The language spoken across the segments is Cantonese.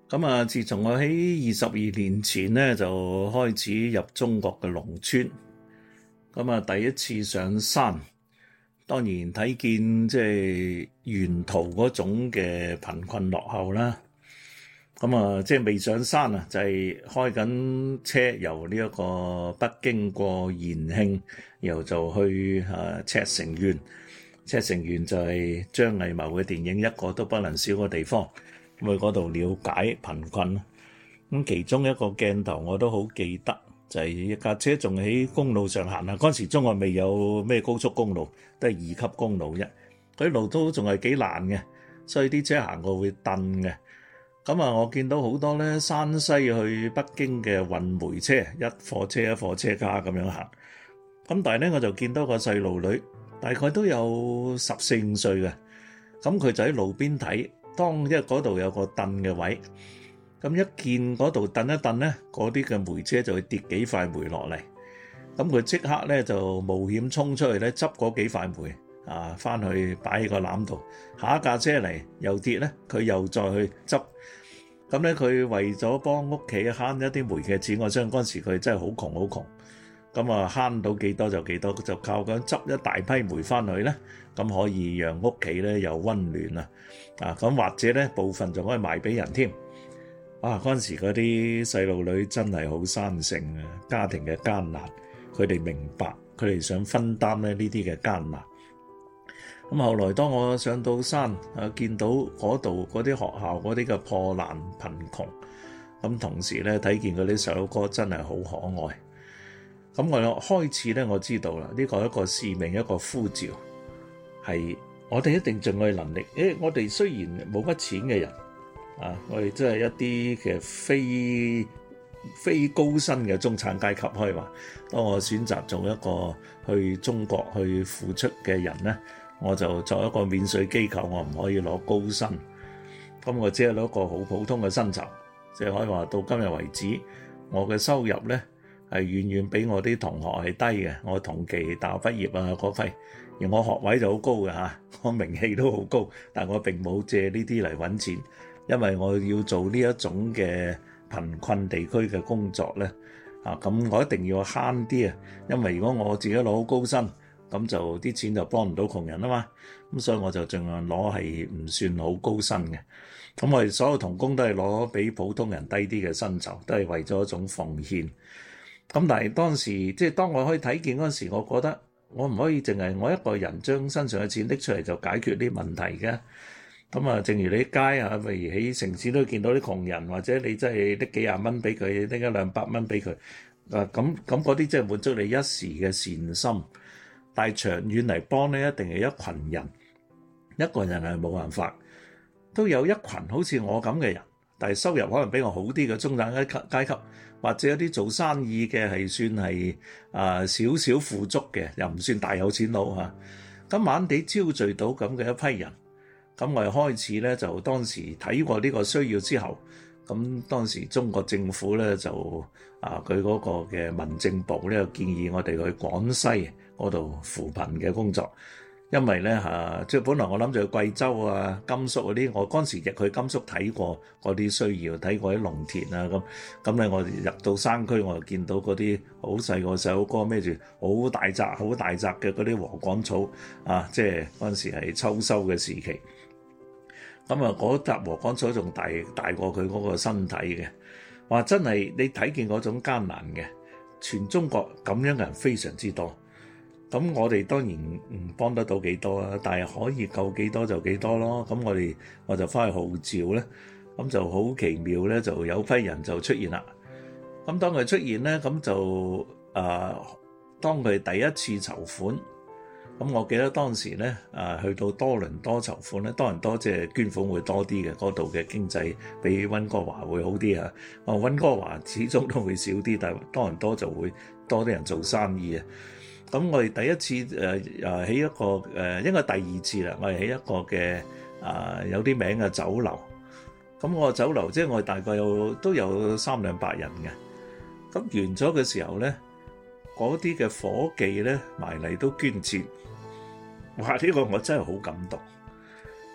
咁啊，自從我喺22年前咧就開始入中國嘅農村，咁啊第一次上山，當然睇見即係沿途嗰種嘅貧困落後啦。咁啊，即係未上山啊，就係開緊車由呢一個北京過延慶，然後就去赤城縣。赤城縣就係張藝謀嘅電影一個都不能少嘅地方。咁去嗰度了解貧困。咁其中一個鏡頭我都好記得，就係一架車仲喺公路上行啊。嗰陣時中國未有咩高速公路，都係2級公路啫。嗰啲路都仲係幾爛嘅，所以啲車行過會蹬嘅。咁啊，我見到好多咧山西去北京嘅運煤車，一貨車一貨車卡咁樣行。咁但係咧，我就見到個細路女，大概都有14、15歲嘅。咁佢就喺路邊睇，因為嗰度有個凳嘅位，咁一見嗰度凳一凳咧，嗰啲嘅煤車就會跌幾塊煤落嚟。咁佢即刻咧就冒險衝出去咧，執嗰幾塊煤啊，翻去擺喺個籃度。下一架車嚟又跌咧，佢又再去執。咁咧，佢為咗幫屋企慳一啲煤嘅錢，我相信嗰陣時佢真係好窮好窮。咁啊，慳到幾多就幾多，就靠咁執一大批煤翻去咧，咁可以讓屋企咧又溫暖啊！咁或者咧部分仲可以賣俾人添。嗰陣時嗰啲細路女真係好生性啊！家庭嘅艱難，佢哋明白，佢哋想分擔咧呢啲嘅艱難。咁後來當我上到山見到嗰度嗰啲學校嗰啲嘅破爛貧窮，咁同時咧睇見嗰啲細路哥真係好可愛。咁我開始咧，我知道啦，呢個係一個使命，一個呼召，係我哋一定盡我哋能力。我哋雖然冇乜錢嘅人我哋真係一啲嘅非高薪嘅中產階級，可以話。當我選擇做一個去中國去付出嘅人咧，我就作一個免稅機構，我唔可以攞高薪，咁我只係攞一個好普通嘅薪酬，即係可以話到今日為止，我嘅收入咧係遠遠比我啲同學係低嘅。我同期大學畢業嗰批，而我學位就好高嘅嚇，我名氣都好高，但我並冇借呢啲嚟揾錢，因為我要做呢一種嘅貧困地區嘅工作咧咁我一定要慳啲啊，因為如果我自己攞好高薪，咁就啲錢就幫唔到窮人啊嘛，咁所以我就盡量攞係唔算好高薪嘅。咁我哋所有同工都係攞比普通人低啲嘅薪酬，都係為咗一種奉獻。咁但係當時即係當我可以睇見嗰陣時，我覺得我唔可以淨係我一個人將身上嘅錢拎出嚟就解決啲問題嘅。咁啊，正如你喺街譬如喺城市都見到啲窮人，或者你真係拎幾廿蚊俾佢，拎100-200蚊俾佢，咁嗰啲即係滿足你一時嘅善心。但係長遠嚟幫咧，一定係一群人，一個人係冇辦法。都有一群好似我咁嘅人，但係收入可能比我好啲嘅中產階級，或者有啲做生意嘅係算係少少富足嘅，又唔算大有錢佬嚇。咁慢慢地招聚到咁嘅一批人，咁我哋開始咧就當時睇過呢個需要之後，咁當時中國政府咧就佢嗰個嘅民政部咧建議我哋去廣西嗰度扶貧嘅工作。因為咧即係本來我諗住去貴州甘肅嗰啲，我嗰陣時亦去甘肅睇過嗰啲需要，睇過啲農田咁咧我入到山區，我就見到嗰啲好細個細佬哥孭住好大紮嘅嗰啲禾稈草即係嗰陣時係秋收嘅時期。咁嗰紮禾稈草仲大過佢嗰個身體嘅，話真係你睇見嗰種艱難嘅，全中國咁樣嘅人非常之多。咁我哋當然唔幫得到幾多啦，但係可以救幾多就幾多咯。咁我就翻去號召咧，咁就好奇妙咧，就有批人就出現啦。咁當佢出現咧，咁就當佢第一次籌款，咁我記得當時咧去到多倫多籌款咧，多倫多即係捐款會多啲嘅，嗰度嘅經濟比溫哥華會好啲啊。溫哥華始終都會少啲，但係多倫多就會多啲人做生意啊。咁我哋第一次起一個應該第二次啦，我哋起一個嘅有啲名嘅酒樓。咁我個酒樓即係我哋大概都有300-400人嘅。咁完咗嘅時候咧，嗰啲嘅夥計咧埋嚟都捐錢。哇！呢個我真係好感動。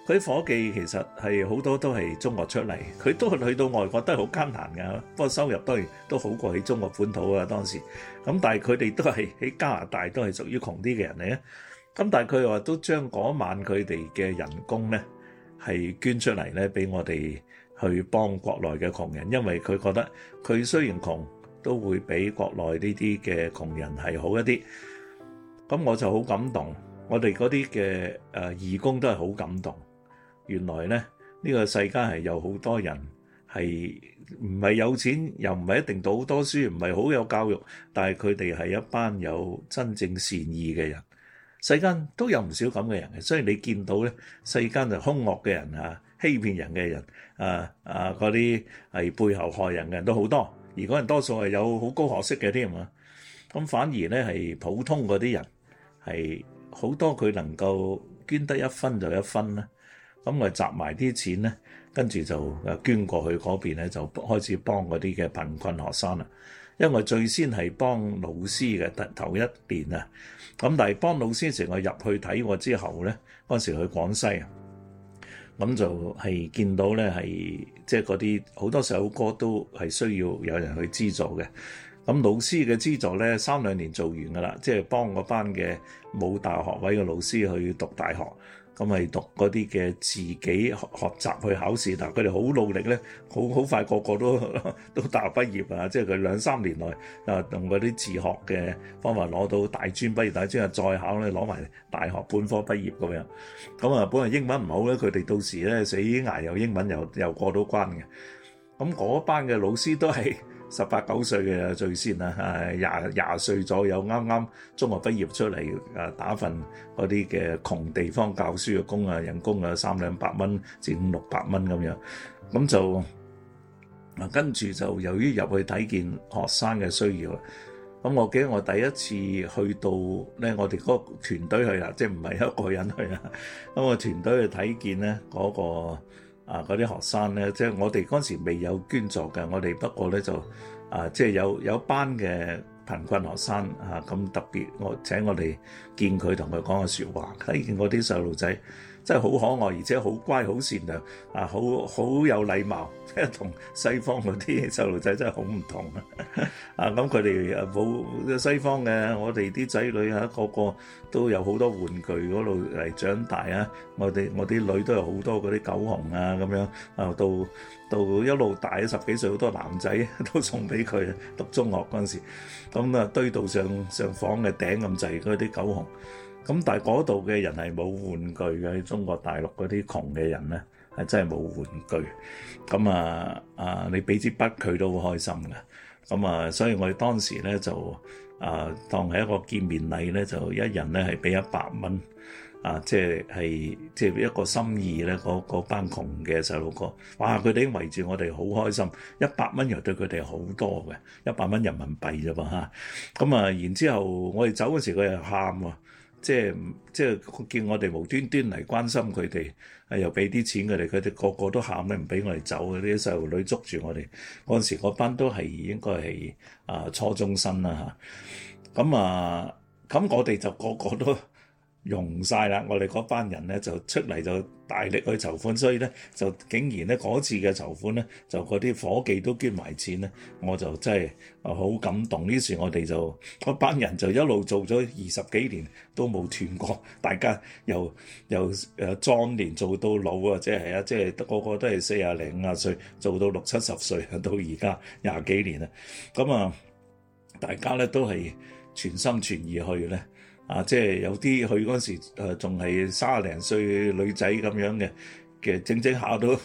佢啲伙計其實係好多都係中國出嚟，佢都去到外國都係好艱難㗎，不過收入當然都好過喺中國本土啊當時。咁但係佢哋都係喺加拿大都係屬於窮啲嘅人嚟啊。咁但係佢話都將嗰晚佢哋嘅人工咧係捐出嚟咧，俾我哋去幫國內嘅窮人，因為佢覺得佢雖然窮，都會比國內呢啲嘅窮人係好一啲。咁我就好感動，我哋嗰啲嘅義工都係好感動。原來咧呢個世界係有好多人係唔係有錢，又唔係一定讀好多書，唔係好有教育，但係佢哋係一班有真正善意嘅人。世間都有唔少咁嘅人嘅，所以你見到咧世間就兇惡嘅人啊，欺騙人嘅人嗰啲係背後害人嘅人都好多，而嗰人多數係有好高學識嘅添啊。咁反而咧係普通嗰啲人係好多，佢能夠捐得一分就一分啦。咁我集埋啲錢咧，跟住就捐過去嗰邊咧，就開始幫嗰啲嘅貧困學生啦。因為我最先係幫老師嘅頭一年啊，咁但係幫老師時我入去睇過之後咧，嗰時去廣西啊，咁就係見到咧係即係嗰啲好多細佬哥都係需要有人去資助嘅。咁老師嘅資助咧3-2年做完噶啦，即係幫嗰班嘅冇大學位嘅老師去讀大學。咁係讀嗰啲嘅自己學習去考試，但佢哋好努力咧，好快個個都大學畢業啊！即係佢2-3年內用嗰啲自學嘅方法攞到大專畢業，大專又再考咧攞埋大學本科畢業咁樣。咁啊，本來英文唔好咧，佢哋到時咧死捱又英文又過到關嘅。咁嗰班嘅老師都係18-19歲嘅最先啦，廿歲左右啱啱中學畢業出嚟，打份嗰啲嘅窮地方教書嘅工啊，人工啊300-400蚊至500-600蚊咁樣，咁就跟住就由於入去睇見學生嘅需要啦。咁我記得我第一次去到咧，我哋嗰個團隊去啦，即係唔係一個人去啦。咁我團隊去睇見咧嗰個。嗰啲學生咧，即係我哋嗰時未有捐助嘅，我哋不過咧就即係有班嘅貧困學生咁特別，我請我哋見佢同佢講個説話，睇見嗰啲細路仔真係好可愛，而且好乖、好善良好有禮貌，即係同西方嗰啲細路仔真係好唔同咁佢哋冇西方嘅，我哋啲仔女個個都有好多玩具嗰度嚟長大啊！我啲女都有好多嗰啲狗熊咁樣到一路大10幾歲，好多男仔都送俾佢讀中學嗰陣時，咁堆到上房嘅頂咁滯嗰啲狗熊。咁但係嗰度嘅人係冇玩具嘅，中國大陸嗰啲窮嘅人咧係真係冇玩具。咁你俾支筆佢都好開心嘅。咁所以我哋當時咧就當係一個見面禮咧，就一人咧係俾100蚊即係一個心意咧。嗰班窮嘅細路哥，哇！佢哋已經圍住我哋好開心。100蚊又對佢哋好多嘅，100蚊人民幣啫噃嚇。咁然之後我哋走嗰時佢又喊喎。即係見我哋無端端嚟關心佢哋，又俾啲錢佢哋，佢哋個個都喊咧，唔俾我哋走嘅。啲細路女捉住我哋嗰陣時，嗰班都係應該係初中生啦嚇。咁我哋就個個都用晒啦，我哋嗰班人咧就出嚟就大力去籌款，所以咧就竟然咧嗰次嘅籌款咧，就嗰啲伙計都捐埋錢咧，我就真係好感動。於是我哋就嗰班人就一路做咗20幾年都冇斷過，大家由壯年做到老啊，即係個個都係40零50歲做到60、70歲到而家20幾年啦。咁大家咧都係全心全意去咧。即係有啲去嗰時仲係30零歲女仔咁樣嘅，整下都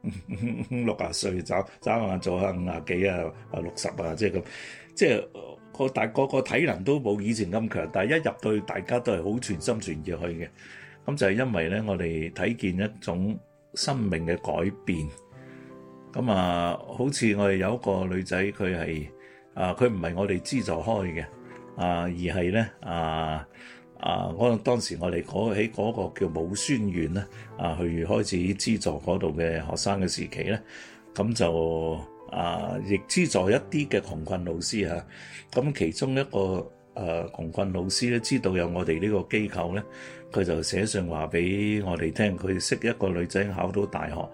60歲，找下做下50幾60即係咁，即係個體能都冇以前咁強，但係一入到大家都係好全心全意去嘅。咁就係因為咧，我哋睇見一種生命嘅改變。咁好似我哋有一個女仔，佢係佢唔係我哋資助開嘅。而係咧當時我哋喺嗰個叫武宣縣咧去開始資助嗰度嘅學生嘅時期咧，咁就亦資助一啲嘅窮困老師嚇。咁其中一個窮困老師咧知道有我哋呢個機構咧，佢就寫信話俾我哋聽，佢識一個女仔考到大學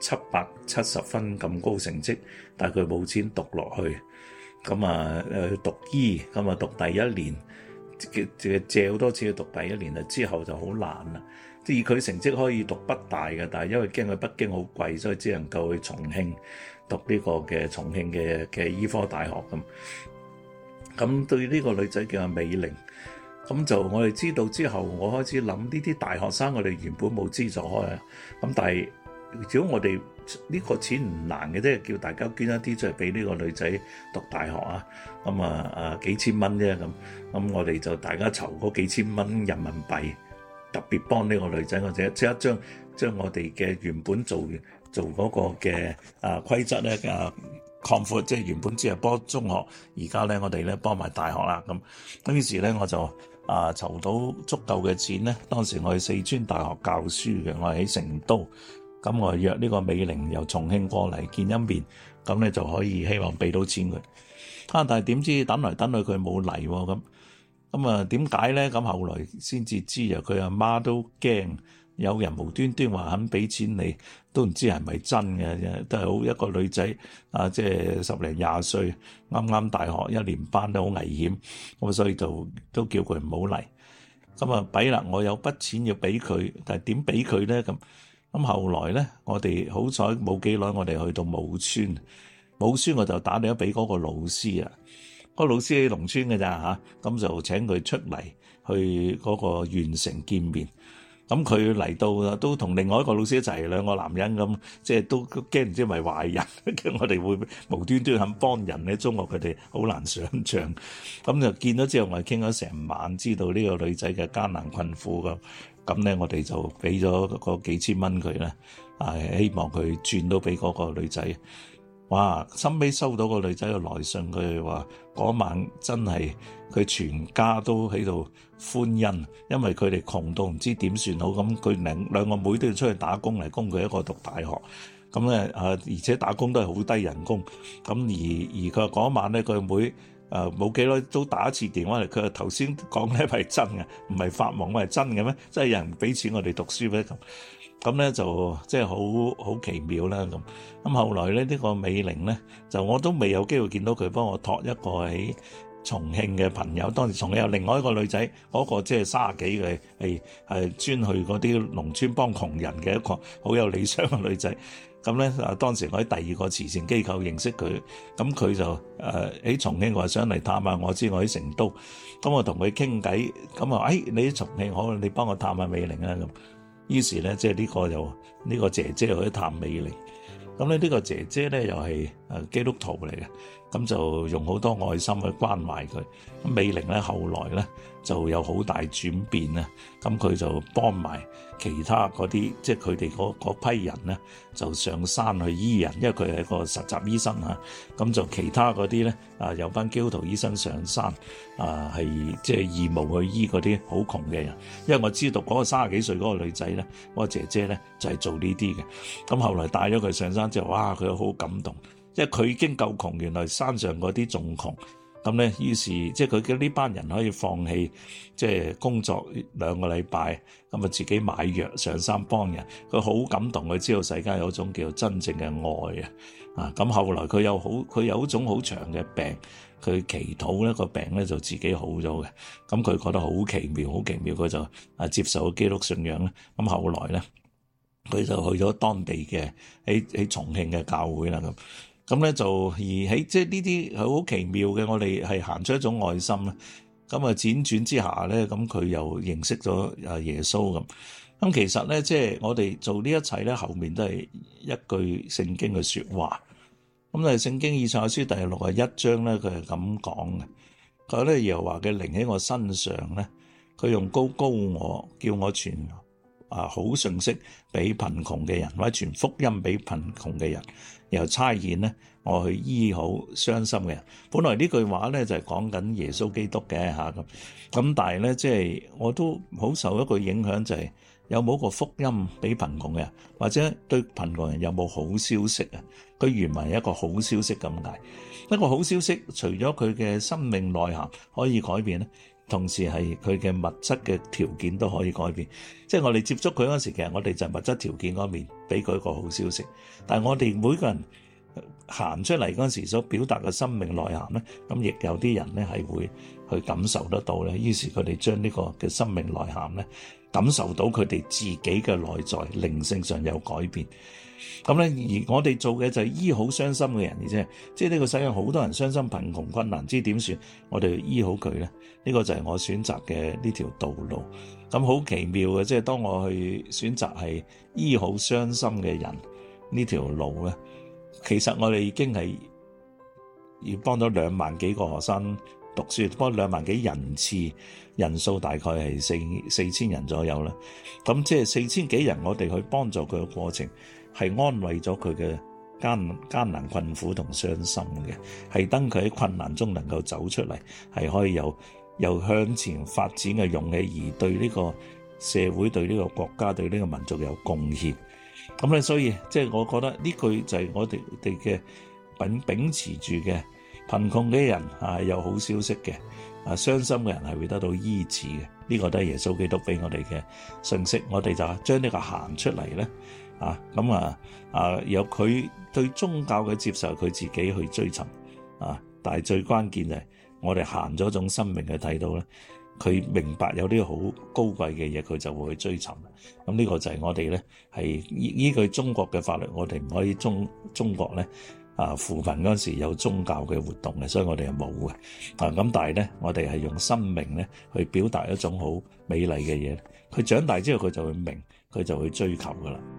770分咁高成績，但係佢冇錢讀落去，咁啊讀醫，咁啊讀第一年，借好多次去讀第一年啦，之後就好難啦。即係佢成績可以讀北大嘅，但係因為驚去北京好貴，所以只能夠去重慶讀呢個嘅重慶嘅醫科大學咁。咁對呢個女仔叫阿美玲，咁就我哋知道之後，我開始諗呢啲大學生，我哋原本冇資助開啊。咁但係如果我哋呢個錢唔難嘅啫，叫大家捐一啲出嚟俾呢個女仔讀大學啊。咁幾千蚊啫咁我哋就大家籌嗰幾千蚊人民幣。特別幫呢個女仔，或者即刻將我哋嘅原本做嗰個嘅規則咧擴闊，即係原本只係幫中學，而家咧我哋咧幫埋大學啦咁於是咧我就籌到足夠嘅錢咧。當時我係四川大學教書嘅，我係喺成都，咁我約呢個美玲由重慶過嚟見一面，咁咧就可以希望俾到錢佢。但係點知等來等去佢冇嚟喎咁點解咧？咁後來先至知啊，佢阿媽都驚有人無端端話肯俾錢你，都唔知係咪真嘅，都係好一個女仔即係10零20歲，啱啱大學1年班都好危險，咁所以就都叫佢唔好嚟。咁弊啦，我有筆錢要俾佢，但係點俾佢咧？咁後來咧，我哋好彩冇幾耐，我哋去到武村，我就打電話俾嗰個老師啊。個老師喺農村嘅咋咁就請佢出嚟去嗰個縣城見面。咁佢嚟到都同另外一個老師一齊，兩個男人咁，即係都驚唔知係咪壞人，驚我哋會無端端肯幫人咧。中國佢哋好難想像。咁就見咗之後，我哋傾咗成晚，知道呢個女仔嘅艱難困苦咁咧，我哋就俾咗嗰幾千蚊佢咧，希望佢轉到俾嗰個女仔。哇！收尾收到個女仔嘅來信，佢話嗰晚真係佢全家都喺度歡欣，因為佢哋窮到唔知點算好，咁佢兩個妹都要出去打工嚟供佢一個讀大學，咁咧而且打工都係好低人工，咁而佢話嗰晚咧佢妹冇幾耐都打一次電話嚟，佢話頭先講咧係真嘅，唔係發夢，係真嘅咩？真係有人俾錢我哋讀書咩咁咧就即係好奇妙啦咁後來咧呢個美玲咧就我都未有機會見到佢，幫我託一個喺重慶嘅朋友。當時重慶有另外一個女仔，嗰個即係30幾嘅係專去嗰啲農村幫窮人嘅一個好有理想嘅女仔。咁咧當時我喺第二個慈善機構認識佢，咁佢就喺重慶話想嚟探下我，知我喺成都，咁我同佢傾偈，咁啊你喺重慶好，你幫我探下美玲啊咁。於是咧，即係呢個姐姐去探美玲。咁咧呢個姐姐咧又係基督徒嚟嘅，咁就用好多愛心去關懷佢。咁美玲咧後來咧就有好大轉變啊！咁佢就幫埋其他嗰啲，即係佢哋嗰批人咧，就上山去醫人，因為佢係一個實習醫生嚇。咁就其他嗰啲咧有班基督徒醫生上山係即係義務去醫嗰啲好窮嘅人。因為我知道嗰個30幾歲嗰個女仔咧，嗰個姐姐咧就係做呢啲嘅。咁後來帶咗佢上山之後，哇！佢好感動，因為佢已經夠窮，原來山上嗰啲仲窮。咁咧，於是即係佢嘅呢班人可以放棄即係工作2個禮拜，咁啊自己買藥上山幫人，佢好感動。佢知道世界有一種叫真正嘅愛啊！咁後來佢有一種好長嘅病，佢祈禱咧個病咧就自己好咗嘅。咁佢覺得好奇妙，好奇妙，佢就接受基督信仰咧。咁後來咧，佢就去咗當地嘅喺重慶嘅教會啦咁咧就而喺即係呢啲係好奇妙嘅，我哋係行出一種愛心啦。咁輾轉之下咧，咁佢又認識咗耶穌咁。咁其實咧，即係我哋做呢一切咧，後面都係一句聖經嘅說話。咁咧，聖經以賽亞書第61章咧，佢係咁講嘅。佢話咧，耶和華嘅靈喺我身上咧，佢用膏我，叫我傳好信息俾貧窮嘅人，或者傳福音俾貧窮嘅人。又差遣咧， 我去醫好傷心嘅人。本來呢句話咧就係講緊耶穌基督嘅咁但係咧即係我都好受一個影響，就係有冇個福音俾貧窮嘅人，或者對貧窮人有冇好消息啊？佢原文係一個好消息咁解。一個好消息，除咗佢嘅生命內涵可以改變咧，同時係佢嘅物質嘅條件都可以改變。即係我哋接觸佢嗰時，其實我哋就係物質條件嗰面俾佢一個好消息。但係我哋每個人行出嚟嗰時所表達嘅生命內涵咧，咁亦有啲人咧係會去感受得到咧。於是佢哋將呢個嘅生命內涵咧，感受到佢哋自己嘅內在靈性上有改變。咁咧，而我哋做嘅就係醫好傷心嘅人，而且即係呢個世界好多人傷心貧窮困難，知點算？我哋醫好佢咧，呢個就係我選擇嘅呢條道路。咁好奇妙嘅，即係當我去選擇係醫好傷心嘅人呢條路咧，其實我哋已經係要幫咗2萬幾個學生讀書，幫2萬幾人次，人數大概係4,000人左右啦。咁即係4,000幾人，我哋去幫助佢嘅過程，係安慰咗佢嘅艱難困苦同傷心嘅，係等佢喺困難中能夠走出嚟，係可以有向前發展嘅勇氣，而對呢個社會、對呢個國家、對呢個民族有貢獻。咁咧，所以即係我覺得呢句就係我哋嘅秉持住嘅，貧窮嘅人係有好消息嘅，傷心嘅人係會得到醫治嘅。呢個都係耶穌基督俾我哋嘅信息。我哋就將呢個行出嚟咧，由佢對宗教嘅接受，佢自己去追尋但係最關鍵就係我哋行咗種生命去睇到咧，佢明白有啲好高貴嘅嘢，佢就會去追尋。咁呢個就係我哋咧係依據中國嘅法律，我哋唔可以中國咧扶貧嗰時有宗教嘅活動嘅，所以我哋係冇嘅。咁但係咧，我哋係用生命咧去表達一種好美麗嘅嘢。佢長大之後，佢就會明，佢就會追求噶啦。